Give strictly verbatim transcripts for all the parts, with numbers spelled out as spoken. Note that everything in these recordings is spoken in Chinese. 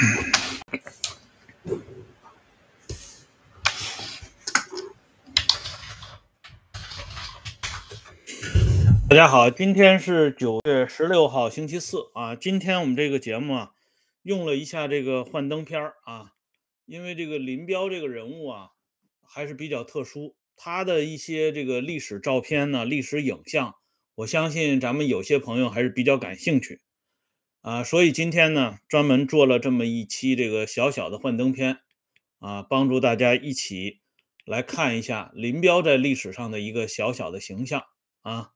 大家好，今天是九月十六号，星期四啊。今天我们这个节目啊，用了一下这个幻灯片儿啊，因为这个林彪这个人物啊，还是比较特殊，他的一些这个历史照片呢、历史影像，我相信咱们有些朋友还是比较感兴趣啊，所以今天呢，专门做了这么一期这个小小的幻灯片啊，帮助大家一起来看一下林彪在历史上的一个小小的形象啊。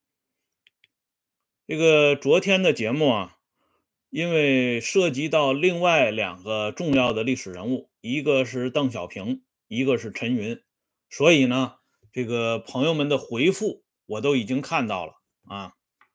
这个昨天的节目啊，因为涉及到另外两个重要的历史人物，一个是邓小平，一个是陈云，所以呢，这个朋友们的回复我都已经看到了啊。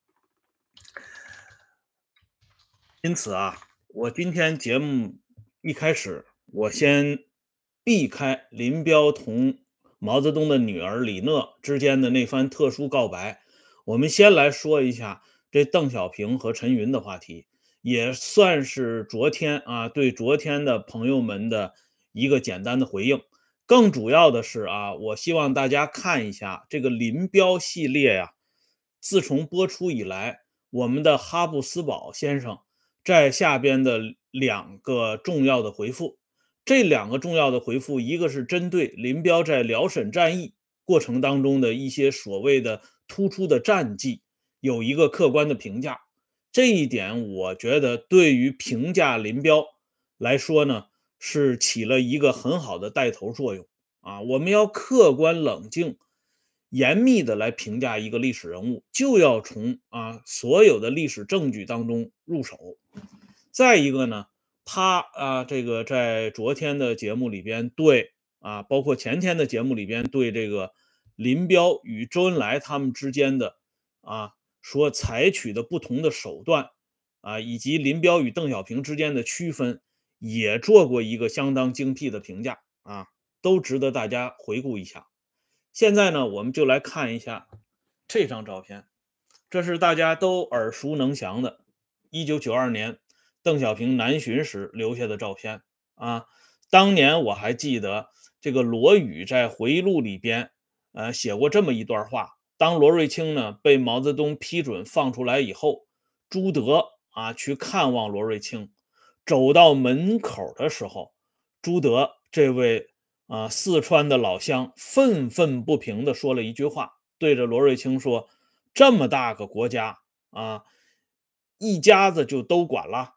因此啊，我今天节目一开始，我先避开林彪同毛泽东的女儿李讷之间的那番特殊告白，我们先来说一下这邓小平和陈云的话题，也算是昨天啊对昨天的朋友们的一个简单的回应。更主要的是啊，我希望大家看一下这个林彪系列呀、自从播出以来，我们的哈布斯堡先生在下边的两个重要的回复，这两个重要的回复，一个是针对林彪在辽沈战役过程当中的一些所谓的突出的战绩，有一个客观的评价。这一点，我觉得对于评价林彪来说呢，是起了一个很好的带头作用啊。我们要客观冷静、严密的来评价一个历史人物，就要从啊所有的历史证据当中入手。再一个呢，他啊这个在昨天的节目里边对啊，包括前天的节目里边对这个林彪与周恩来他们之间的啊所采取的不同的手段啊，以及林彪与邓小平之间的区分，也做过一个相当精辟的评价啊，都值得大家回顾一下。现在呢，我们就来看一下这张照片，这是大家都耳熟能详的一九九二年邓小平南巡时留下的照片啊。当年我还记得这个罗宇在回忆录里边呃写过这么一段话，当罗瑞卿呢被毛泽东批准放出来以后，朱德啊去看望罗瑞卿，走到门口的时候，朱德这位啊四川的老乡愤愤不平地说了一句话，对着罗瑞卿说：这么大个国家啊，一家子就都管了。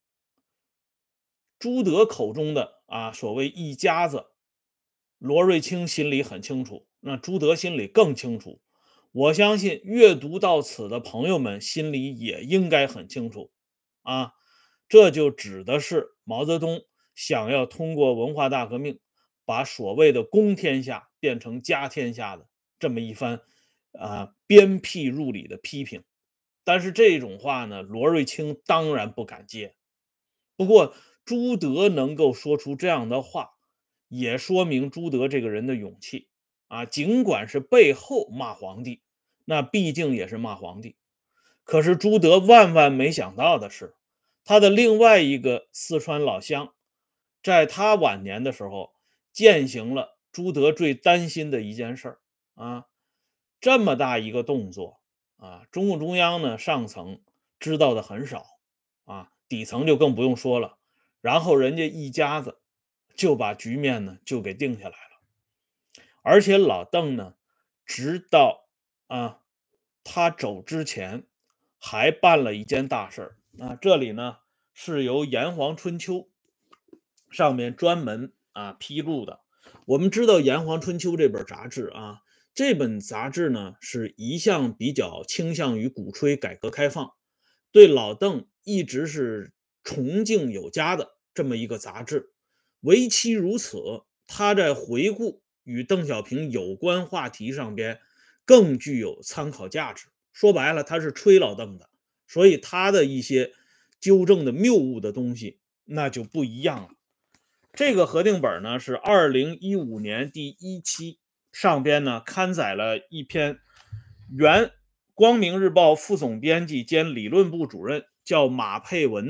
朱德口中的啊所谓一家子，罗瑞卿心里很清楚，那朱德心里更清楚。我相信阅读到此的朋友们心里也应该很清楚啊，这就指的是毛泽东想要通过文化大革命，把所谓的公天下变成家天下的这么一番啊鞭辟入里的批评。但是这种话呢，罗瑞卿当然不敢接。不过朱德能够说出这样的话，也说明朱德这个人的勇气啊，尽管是背后骂皇帝，那毕竟也是骂皇帝。可是朱德万万没想到的是，他的另外一个四川老乡，在他晚年的时候，践行了朱德最担心的一件事儿啊，这么大一个动作啊，中共中央呢上层知道的很少啊，底层就更不用说了。然后人家一家子就把局面呢就给定下来了。而且老邓呢，直到啊他走之前，还办了一件大事儿啊。这里呢是由炎黄春秋上面专门啊披露的。我们知道炎黄春秋这本杂志啊，这本杂志呢是一向比较倾向于鼓吹改革开放，对老邓一直是崇敬有加的这么一个杂志。唯其如此，他在回顾与邓小平有关话题上边更具有参考价值。说白了，他是吹老邓的，所以他的一些纠正的谬误的东西那就不一样了。这个核定本呢是二零一五年第一期，上边呢刊载了一篇原光明日报副总编辑兼理论部主任叫马佩文的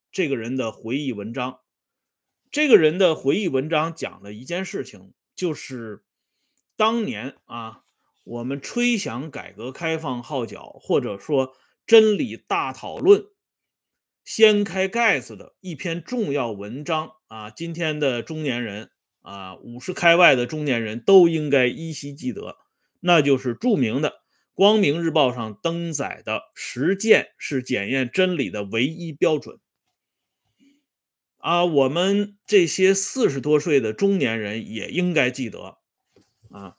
这个人的回忆文章。这个人的回忆文章讲了一件事情，就是当年啊，我们吹响改革开放号角，或者说真理大讨论，掀开盖子的一篇重要文章啊，今天的中年人啊，五十开外的中年人都应该依稀记得，那就是著名的《光明日报》上登载的“实践是检验真理的唯一标准”。啊，我们这些四十多岁的中年人也应该记得啊，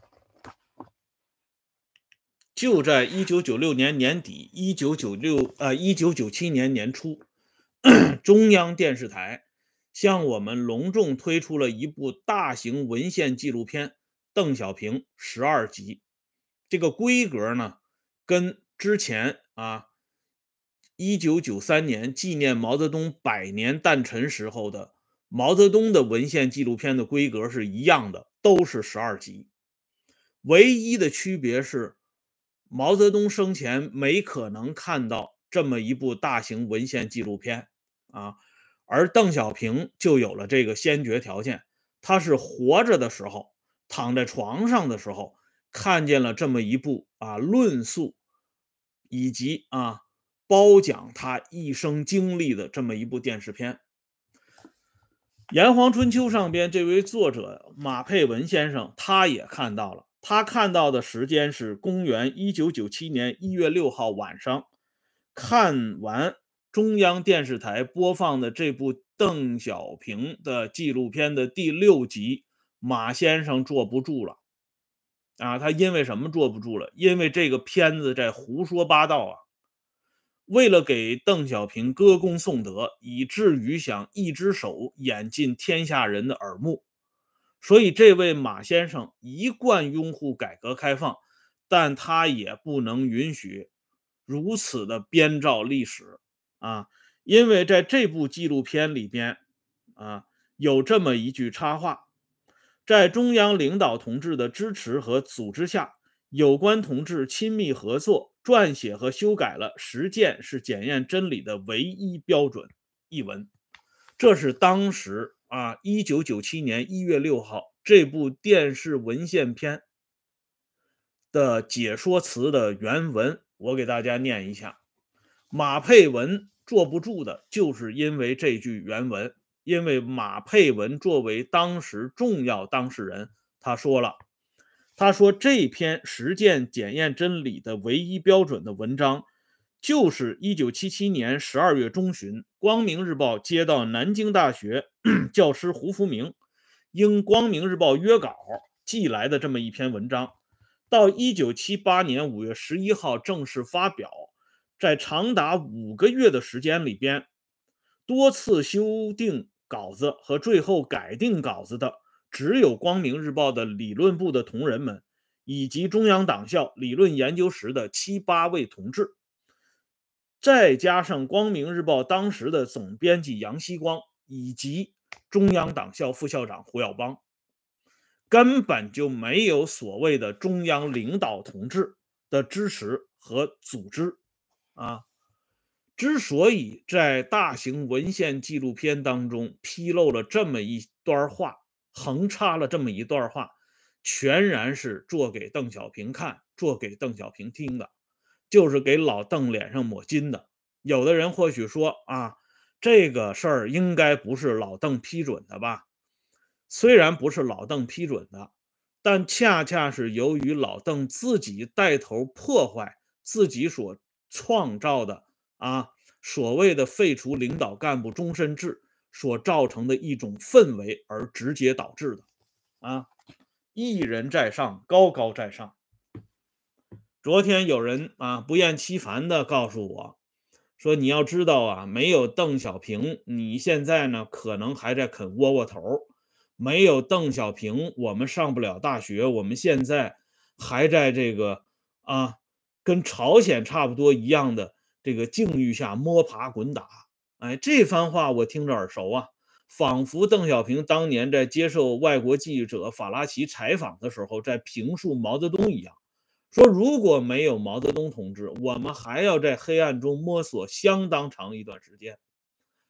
就在一九九六年年底，一九九六呃一九九七年年初，中央电视台向我们隆重推出了一部大型文献纪录片《邓小平十二集》。这个规格呢，跟之前啊一九九三年纪念毛泽东百年诞辰时候的毛泽东的文献纪录片的规格是一样的，都是十二集。唯一的区别是，毛泽东生前没可能看到这么一部大型文献纪录片啊，而邓小平就有了这个先决条件，他是活着的时候，躺在床上的时候，看见了这么一部啊论述以及啊褒奖他一生经历的这么一部电视片。炎黄春秋上边这位作者马佩文先生，他也看到了，他看到的时间是公元一九九七年一月六号晚上，看完中央电视台播放的这部邓小平的纪录片的第六集，马先生坐不住了啊！他因为什么坐不住了？因为这个片子在胡说八道啊！为了给邓小平歌功颂德，以至于想一只手掩进天下人的耳目，所以这位马先生一贯拥护改革开放，但他也不能允许如此的编造历史啊！因为在这部纪录片里边啊，有这么一句插话：在中央领导同志的支持和组织下，有关同志亲密合作，撰写和修改了实践是检验真理的唯一标准一文。这是当时啊，一九九七年一月六号这部电视文献片的解说词的原文，我给大家念一下。马佩文坐不住的，就是因为这句原文，因为马佩文作为当时重要当事人，他说了。他说这篇实践检验真理的唯一标准的文章，就是一九七七年十二月中旬，光明日报接到南京大学教师胡福明应光明日报约稿寄来的这么一篇文章，到一九七八年五月十一号正式发表，在长达五个月的时间里边，多次修订稿子和最后改定稿子的只有光明日报的理论部的同仁们，以及中央党校理论研究室的七八位同志，再加上光明日报当时的总编辑杨希光，以及中央党校副校长胡耀邦，根本就没有所谓的中央领导同志的支持和组织啊。之所以在大型文献纪录片当中披露了这么一段话，横插了这么一段话，全然是做给邓小平看，做给邓小平听的，就是给老邓脸上抹金的。有的人或许说啊，这个事儿应该不是老邓批准的吧？虽然不是老邓批准的，但恰恰是由于老邓自己带头破坏自己所创造的啊所谓的废除领导干部终身制所造成的一种氛围而直接导致的啊。一人在上，高高在上。昨天有人啊不厌其烦的告诉我说，你要知道啊，没有邓小平，你现在呢可能还在啃窝窝头。没有邓小平，我们上不了大学，我们现在还在这个啊，跟朝鲜差不多一样的这个境遇下摸爬滚打。哎，这番话我听着耳熟啊，仿佛邓小平当年在接受外国记者法拉奇采访的时候，在评述毛泽东一样，说如果没有毛泽东同志，我们还要在黑暗中摸索相当长一段时间。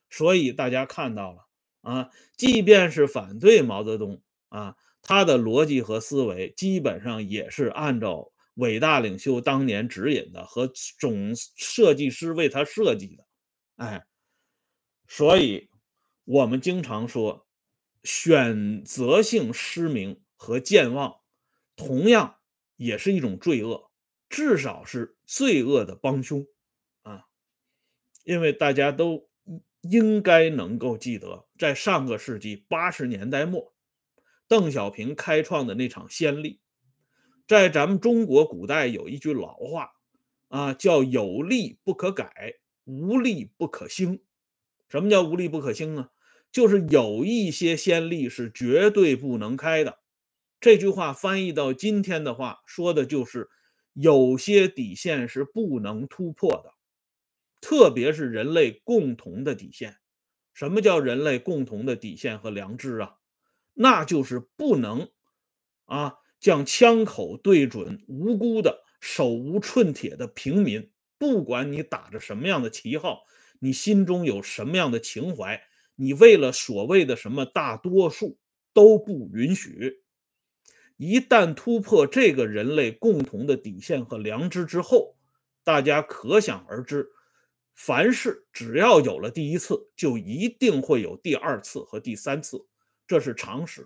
所以大家看到了啊，即便是反对毛泽东啊，他的逻辑和思维基本上也是按照伟大领袖当年指引的和总设计师为他设计的。哎，所以我们经常说，选择性失明和健忘，同样也是一种罪恶，至少是罪恶的帮凶啊。因为大家都应该能够记得，在上个世纪八十年代末，邓小平开创的那场先例。在咱们中国古代有一句老话啊，叫有利不可改，无利不可兴。什么叫无利不可兴呢？就是有一些先例是绝对不能开的。这句话翻译到今天的话，说的就是有些底线是不能突破的，特别是人类共同的底线。什么叫人类共同的底线和良知啊？那就是不能啊将枪口对准无辜的手无寸铁的平民，不管你打着什么样的旗号，你心中有什么样的情怀，你为了所谓的什么大多数都不允许。一旦突破这个人类共同的底线和良知之后，大家可想而知，凡事只要有了第一次，就一定会有第二次和第三次，这是常识。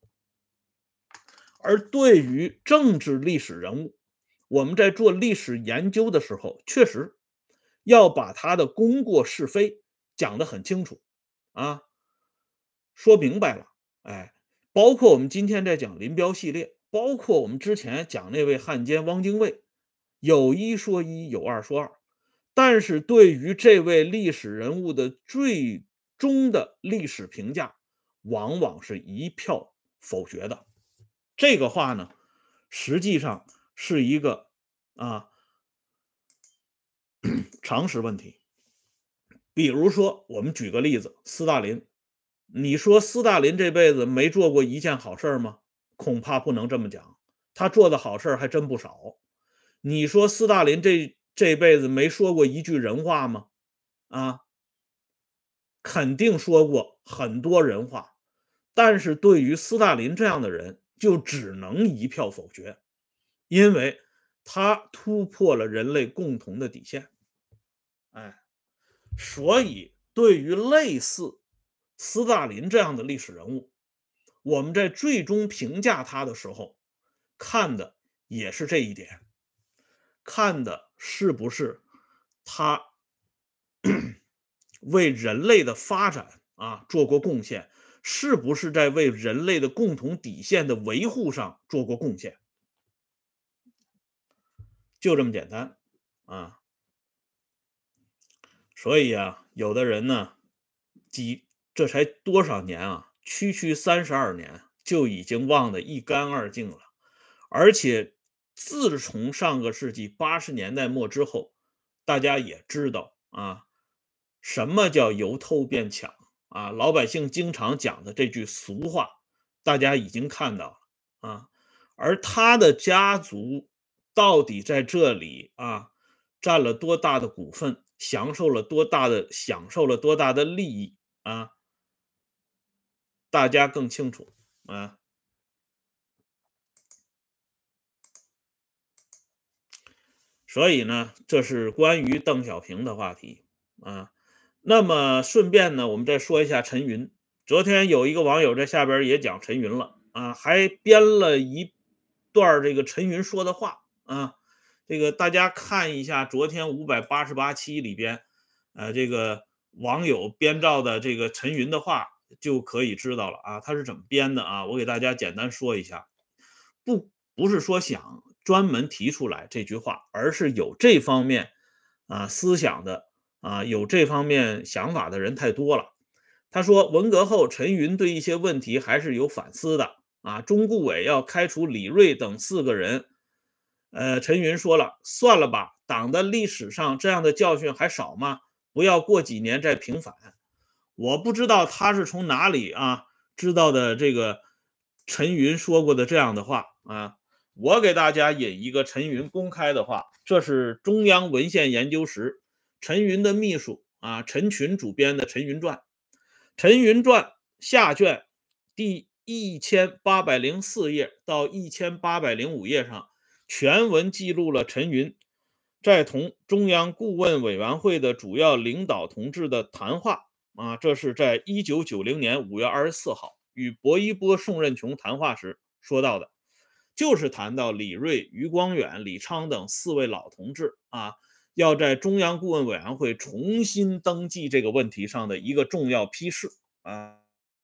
而对于政治历史人物，我们在做历史研究的时候，确实要把他的功过是非讲得很清楚啊，说明白了。哎，包括我们今天在讲林彪系列，包括我们之前讲那位汉奸汪精卫，有一说一，有二说二。但是对于这位历史人物的最终的历史评价，往往是一票否决的。这个话呢，实际上是一个啊常识问题。比如说，我们举个例子，斯大林，你说斯大林这辈子没做过一件好事吗？恐怕不能这么讲，他做的好事还真不少。你说斯大林这这辈子没说过一句人话吗？啊，肯定说过很多人话，但是对于斯大林这样的人，就只能一票否决，因为他突破了人类共同的底线。哎，所以对于类似斯大林这样的历史人物，我们在最终评价他的时候，看的也是这一点，看的是不是他为人类的发展啊做过贡献，是不是在为人类的共同底线的维护上做过贡献，就这么简单啊。所以啊，有的人呢，几这才多少年啊，区区三十二年就已经忘得一干二净了。而且自从上个世纪八十年代末之后，大家也知道啊，什么叫由偷变抢啊？老百姓经常讲的这句俗话，大家已经看到了啊。而他的家族到底在这里啊占了多大的股份，享受了多大的享受了多大的利益啊？大家更清楚啊。所以呢，这是关于邓小平的话题啊。那么顺便呢，我们再说一下陈云。昨天有一个网友在下边也讲陈云了啊，还编了一段这个陈云说的话啊。这个大家看一下昨天五百八十八期里边，呃，这个网友编造的这个陈云的话，就可以知道了啊，他是怎么编的啊。我给大家简单说一下，不不是说想专门提出来这句话，而是有这方面啊思想的啊有这方面想法的人太多了。他说，文革后陈云对一些问题还是有反思的啊。中顾委要开除李锐等四个人，呃，陈云说了，算了吧，党的历史上这样的教训还少吗？不要过几年再平反。我不知道他是从哪里啊知道的这个陈云说过的这样的话啊。我给大家引一个陈云公开的话，这是中央文献研究室陈云的秘书啊，陈群主编的《陈云传》。陈云传下卷第一千八百零四页到一千八百零五页上，全文记录了陈云在同中央顾问委员会的主要领导同志的谈话啊，这是在一九九零年五月二十四号与薄一波、宋任穷谈话时说到的，就是谈到李瑞、余光远、李昌等四位老同志啊，要在中央顾问委员会重新登记这个问题上的一个重要批示啊。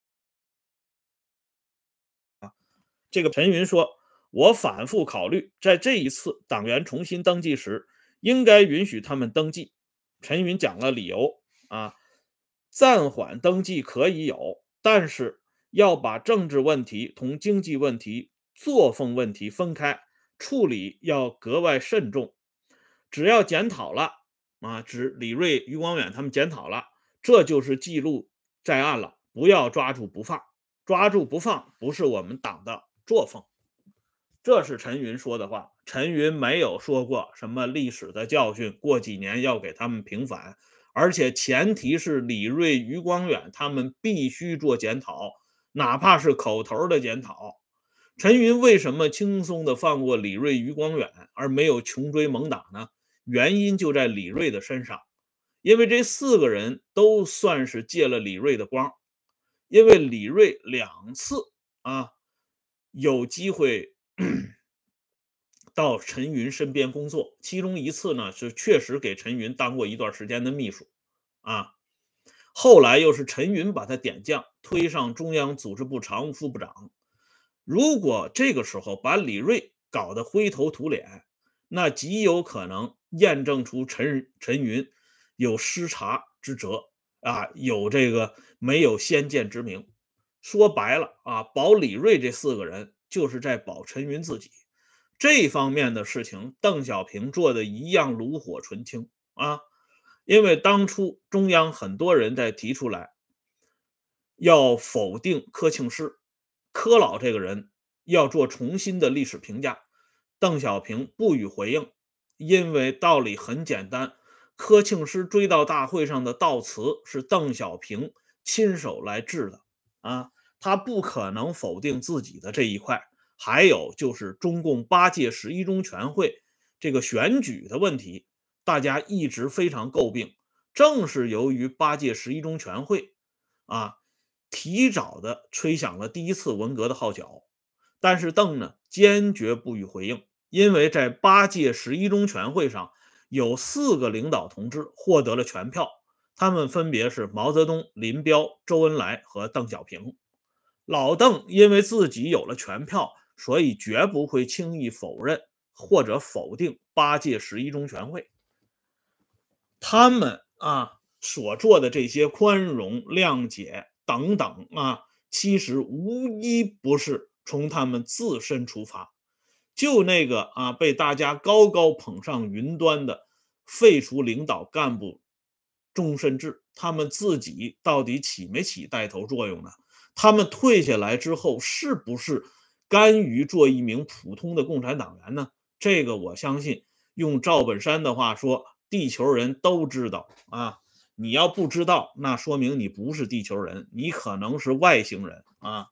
这个陈云说，我反复考虑，在这一次党员重新登记时，应该允许他们登记。陈云讲了理由啊，暂缓登记可以有，但是要把政治问题同经济问题、作风问题分开处理，要格外慎重。只要检讨了啊，指李瑞、余光远他们检讨了，这就是记录在案了，不要抓住不放。抓住不放不是我们党的作风。这是陈云说的话。陈云没有说过什么历史的教训，过几年要给他们平反，而且前提是李瑞、余光远他们必须做检讨，哪怕是口头的检讨。陈云为什么轻松的放过李瑞、余光远，而没有穷追猛打呢？原因就在李瑞的身上，因为这四个人都算是借了李瑞的光。因为李瑞两次啊有机会到陈云身边工作，其中一次呢是确实给陈云当过一段时间的秘书啊，后来又是陈云把他点将，推上中央组织部常务副部长。如果这个时候把李瑞搞得灰头土脸，那极有可能验证出陈陈云有失察之责啊，有这个没有先见之明。说白了啊，保李瑞这四个人就是在保陈云自己。这方面的事情，邓小平做的一样炉火纯青啊。因为当初中央很多人在提出来要否定柯庆施，柯老这个人要做重新的历史评价，邓小平不予回应，因为道理很简单，柯庆施追悼大会上的悼词是邓小平亲手来制的啊，他不可能否定自己的这一块。还有就是中共八届十一中全会这个选举的问题，大家一直非常诟病，正是由于八届十一中全会啊，提早的吹响了第一次文革的号角。但是邓呢，坚决不予回应，因为在八届十一中全会上，有四个领导同志获得了全票，他们分别是毛泽东、林彪、周恩来和邓小平。老邓因为自己有了全票，所以绝不会轻易否认或者否定八届十一中全会。他们啊所做的这些宽容、谅解等等啊，其实无一不是从他们自身出发。就那个啊被大家高高捧上云端的废除领导干部终身制，他们自己到底起没起带头作用呢？他们退下来之后，是不是甘于做一名普通的共产党员呢？这个我相信，用赵本山的话说，地球人都知道啊。你要不知道，那说明你不是地球人，你可能是外星人啊。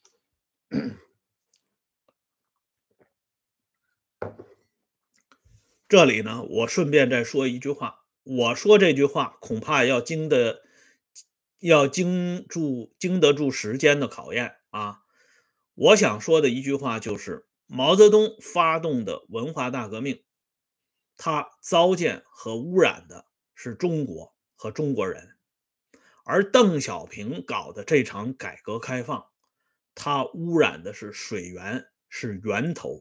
这里呢，我顺便再说一句话，我说这句话恐怕要经得要经住经得住时间的考验啊。我想说的一句话就是，毛泽东发动的文化大革命，他糟践和污染的是中国和中国人，而邓小平搞的这场改革开放，他污染的是水源，是源头。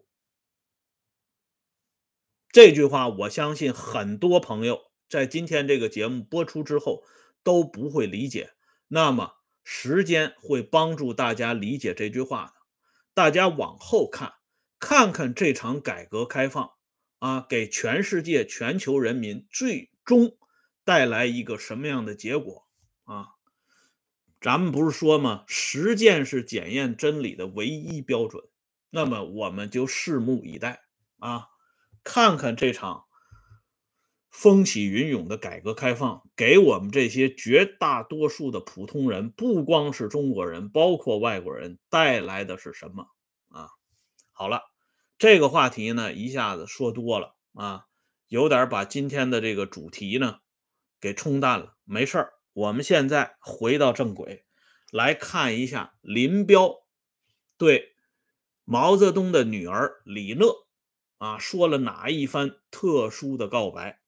这句话我相信很多朋友在今天这个节目播出之后都不会理解，那么时间会帮助大家理解这句话的。大家往后看，看看这场改革开放啊，给全世界全球人民最终带来一个什么样的结果啊？咱们不是说吗？实践是检验真理的唯一标准。那么我们就拭目以待啊，看看这场风起云涌的改革开放，给我们这些绝大多数的普通人，不光是中国人，包括外国人，带来的是什么啊？好了，这个话题呢，一下子说多了啊，有点把今天的这个主题呢给冲淡了。没事儿，我们现在回到正轨，来看一下林彪对毛泽东的女儿李讷啊说了哪一番特殊的告白。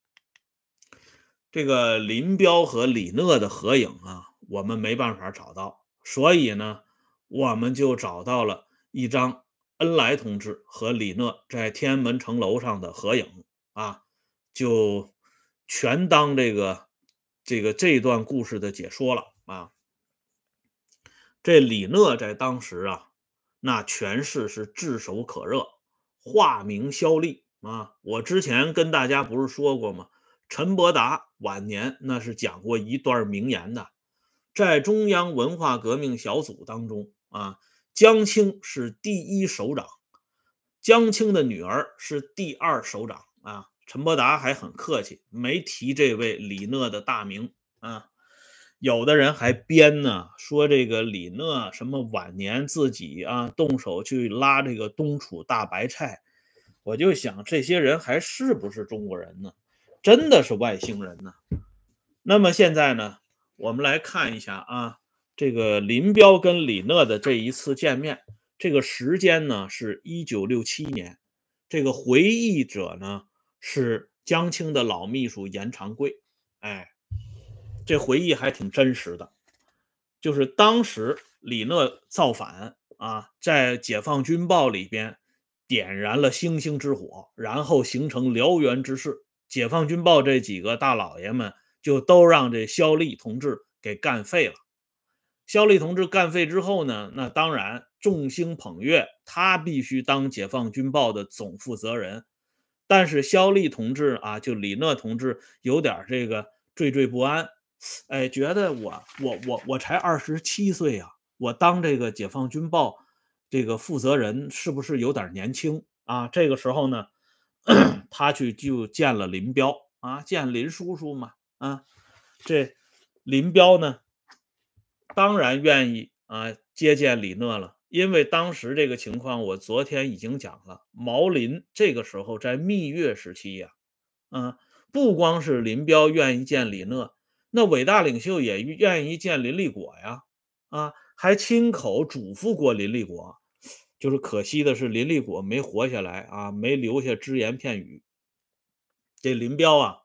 这个林彪和李讷的合影啊，我们没办法找到，所以呢，我们就找到了一张恩来同志和李讷在天安门城楼上的合影啊，就全当这个这个这段故事的解说了啊。这李讷在当时啊，那权势是炙手可热，化名萧丽啊。我之前跟大家不是说过吗？陈伯达晚年那是讲过一段名言的，在中央文化革命小组当中啊，江青是第一首长，江青的女儿是第二首长啊。陈伯达还很客气，没提这位李讷的大名啊。有的人还编呢，说这个李讷什么晚年自己啊动手去拉这个东楚大白菜，我就想这些人还是不是中国人呢？真的是外星人呢？那么现在呢，我们来看一下啊，这个林彪跟李讷的这一次见面，这个时间呢是一九六七年，这个回忆者呢是江青的老秘书严长贵，哎。这回忆还挺真实的，就是当时李讷造反啊，在解放军报里边点燃了星星之火，然后形成燎原之势。解放军报这几个大老爷们就都让这萧丽同志给干废了。萧丽同志干废之后呢，那当然众星捧月，他必须当解放军报的总负责人。但是萧丽同志啊，就李讷同志有点这个惴惴不安，哎，觉得我我我我才二十七岁啊，我当这个解放军报这个负责人是不是有点年轻啊？这个时候呢，他去就见了林彪啊，见林叔叔嘛啊，这林彪呢，当然愿意啊接见李讷了，因为当时这个情况我昨天已经讲了，毛林这个时候在蜜月时期呀、啊，不光是林彪愿意见李讷，那伟大领袖也愿意见林立果呀，啊，还亲口嘱咐过林立果，就是可惜的是林立果没活下来啊，没留下只言片语。这林彪啊，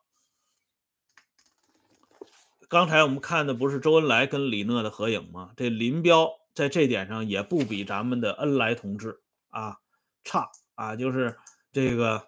刚才我们看的不是周恩来跟李讷的合影吗？这林彪在这点上也不比咱们的恩来同志啊差啊，就是这个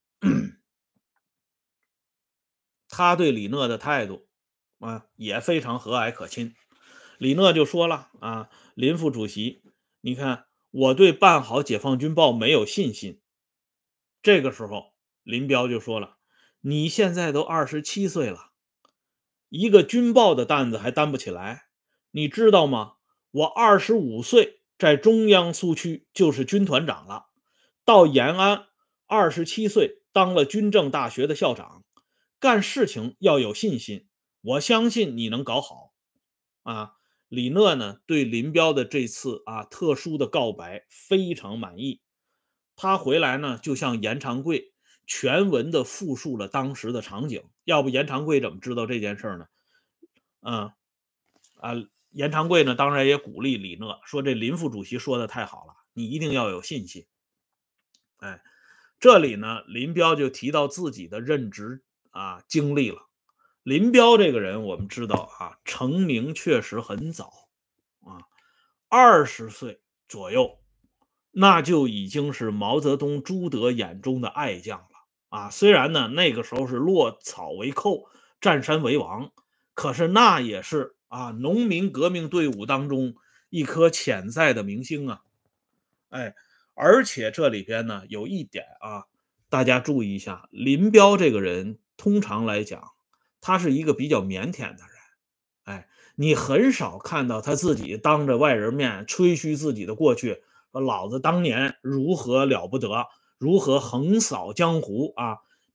他对李讷的态度啊也非常和蔼可亲。李讷就说了啊，林副主席，你看我对办好解放军报没有信心。这个时候，林彪就说了，你现在都二十七岁了，一个军报的担子还担不起来，你知道吗？我二十五岁在中央苏区就是军团长了，到延安二十七岁当了军政大学的校长，干事情要有信心，我相信你能搞好。啊，李讷呢对林彪的这次啊特殊的告白非常满意，他回来呢就向严长贵全文的复述了当时的场景，要不严长贵怎么知道这件事呢？嗯啊，严长贵呢当然也鼓励李讷说，这林副主席说的太好了，你一定要有信心。哎，这里呢林彪就提到自己的任职啊经历了。林彪这个人我们知道啊，成名确实很早啊，二十岁左右，那就已经是毛泽东、朱德眼中的爱将了啊。虽然呢那个时候是落草为寇，占山为王，可是那也是啊农民革命队伍当中一颗潜在的明星啊。哎，而且这里边呢有一点啊，大家注意一下，林彪这个人通常来讲，他是一个比较腼腆的人。哎，你很少看到他自己当着外人面吹嘘自己的过去，说老子当年如何了不得，如何横扫江湖啊！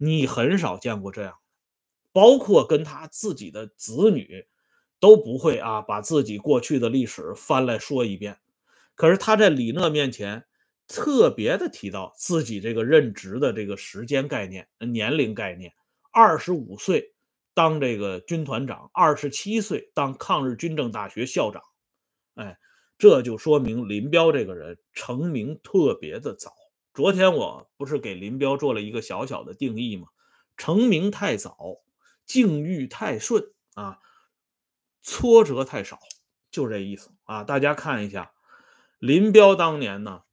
你很少见过这样，包括跟他自己的子女都不会啊，把自己过去的历史翻来说一遍。可是他在李讷面前特别的提到自己这个任职的这个时间概念、呃年龄概念，二十五岁当这个军团长，二十七岁当抗日军政大学校长。哎，这就说明林彪这个人成名特别的早。昨天我不是给林彪做了一个小小的定义吗？成名太早，境遇太顺啊，挫折太少，就这意思啊。大家看一下，林彪当年呢，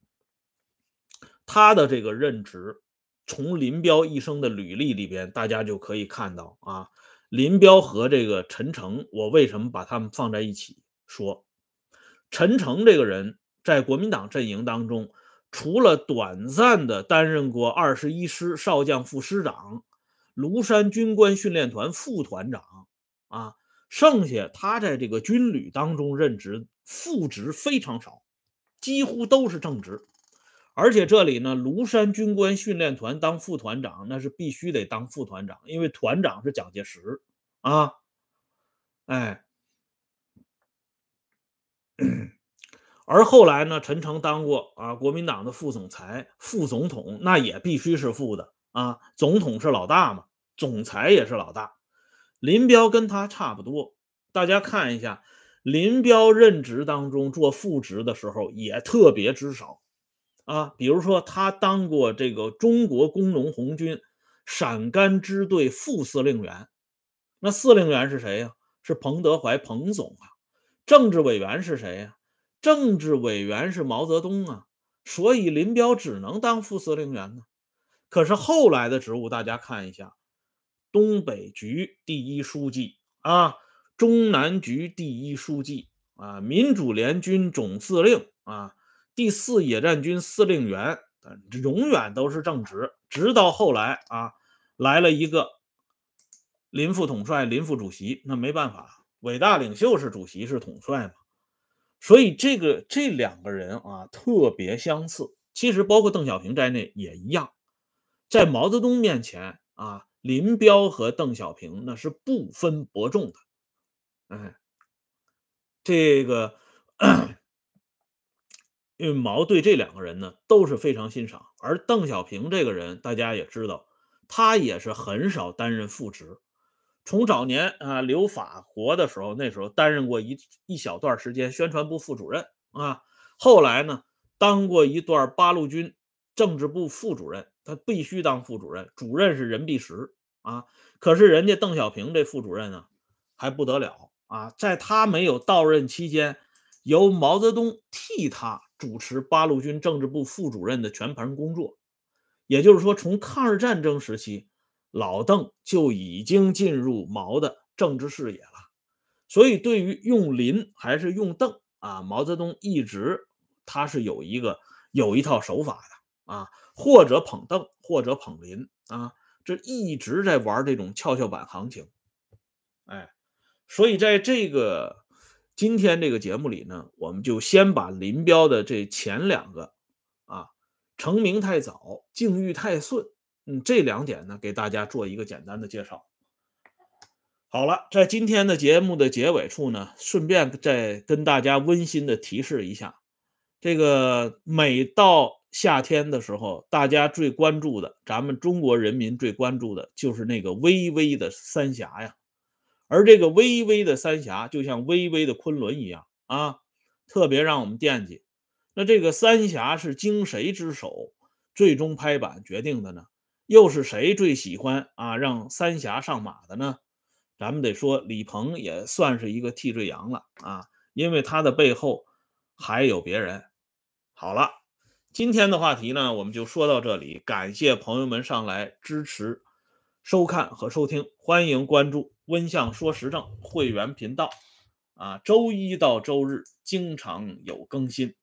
他的这个任职，从林彪一生的履历里边，大家就可以看到啊，林彪和这个陈诚，我为什么把他们放在一起说？陈诚这个人在国民党阵营当中，除了短暂的担任过二十一师少将副师长、庐山军官训练团副团长啊，剩下他在这个军旅当中任职副职非常少，几乎都是正职。而且这里呢，庐山军官训练团当副团长，那是必须得当副团长，因为团长是蒋介石啊。哎，而后来呢，陈诚当过啊国民党的副总裁、副总统，那也必须是副的啊。总统是老大嘛，总裁也是老大。林彪跟他差不多，大家看一下，林彪任职当中做副职的时候也特别之少啊。比如说，他当过这个中国工农红军陕甘支队副司令员，那司令员是谁呀？是彭德怀，彭总啊。政治委员是谁呀？政治委员是毛泽东啊。所以林彪只能当副司令员呢。可是后来的职务，大家看一下，东北局第一书记啊，中南局第一书记啊，民主联军总司令啊，第四野战军司令员，永远都是正职。直到后来啊，来了一个林副统帅、林副主席，那没办法，伟大领袖是主席是统帅嘛。所以这个这两个人啊特别相似，其实包括邓小平在内也一样。在毛泽东面前啊，林彪和邓小平那是不分伯仲的。哎，这个因为毛对这两个人呢都是非常欣赏，而邓小平这个人大家也知道，他也是很少担任副职。从早年啊留法国的时候，那时候担任过一一小段时间宣传部副主任啊，后来呢当过一段八路军政治部副主任，他必须当副主任，主任是任弼时啊。可是人家邓小平这副主任呢还不得了啊，在他没有到任期间，由毛泽东替他主持八路军政治部副主任的全盘工作。也就是说，从抗日战争时期，老邓就已经进入毛的政治视野了。所以，对于用林还是用邓啊，毛泽东一直他是有一个有一套手法的啊，或者捧邓，或者捧林啊，这一直在玩这种跷跷板行情。哎，所以在这个今天这个节目里呢，我们就先把林彪的这前两个啊，成名太早，境遇太顺，嗯，这两点呢，给大家做一个简单的介绍。好了，在今天的节目的结尾处呢，顺便再跟大家温馨的提示一下，这个每到夏天的时候，大家最关注的，咱们中国人民最关注的就是那个巍巍的三峡呀。而这个巍巍的三峡就像巍巍的昆仑一样啊，特别让我们惦记。那这个三峡是经谁之手最终拍板决定的呢？又是谁最喜欢啊让三峡上马的呢？咱们得说李鹏也算是一个替罪羊了啊，因为他的背后还有别人。好了，今天的话题呢，我们就说到这里，感谢朋友们上来支持、收看和收听，欢迎关注温相说时政会员频道啊，周一到周日经常有更新。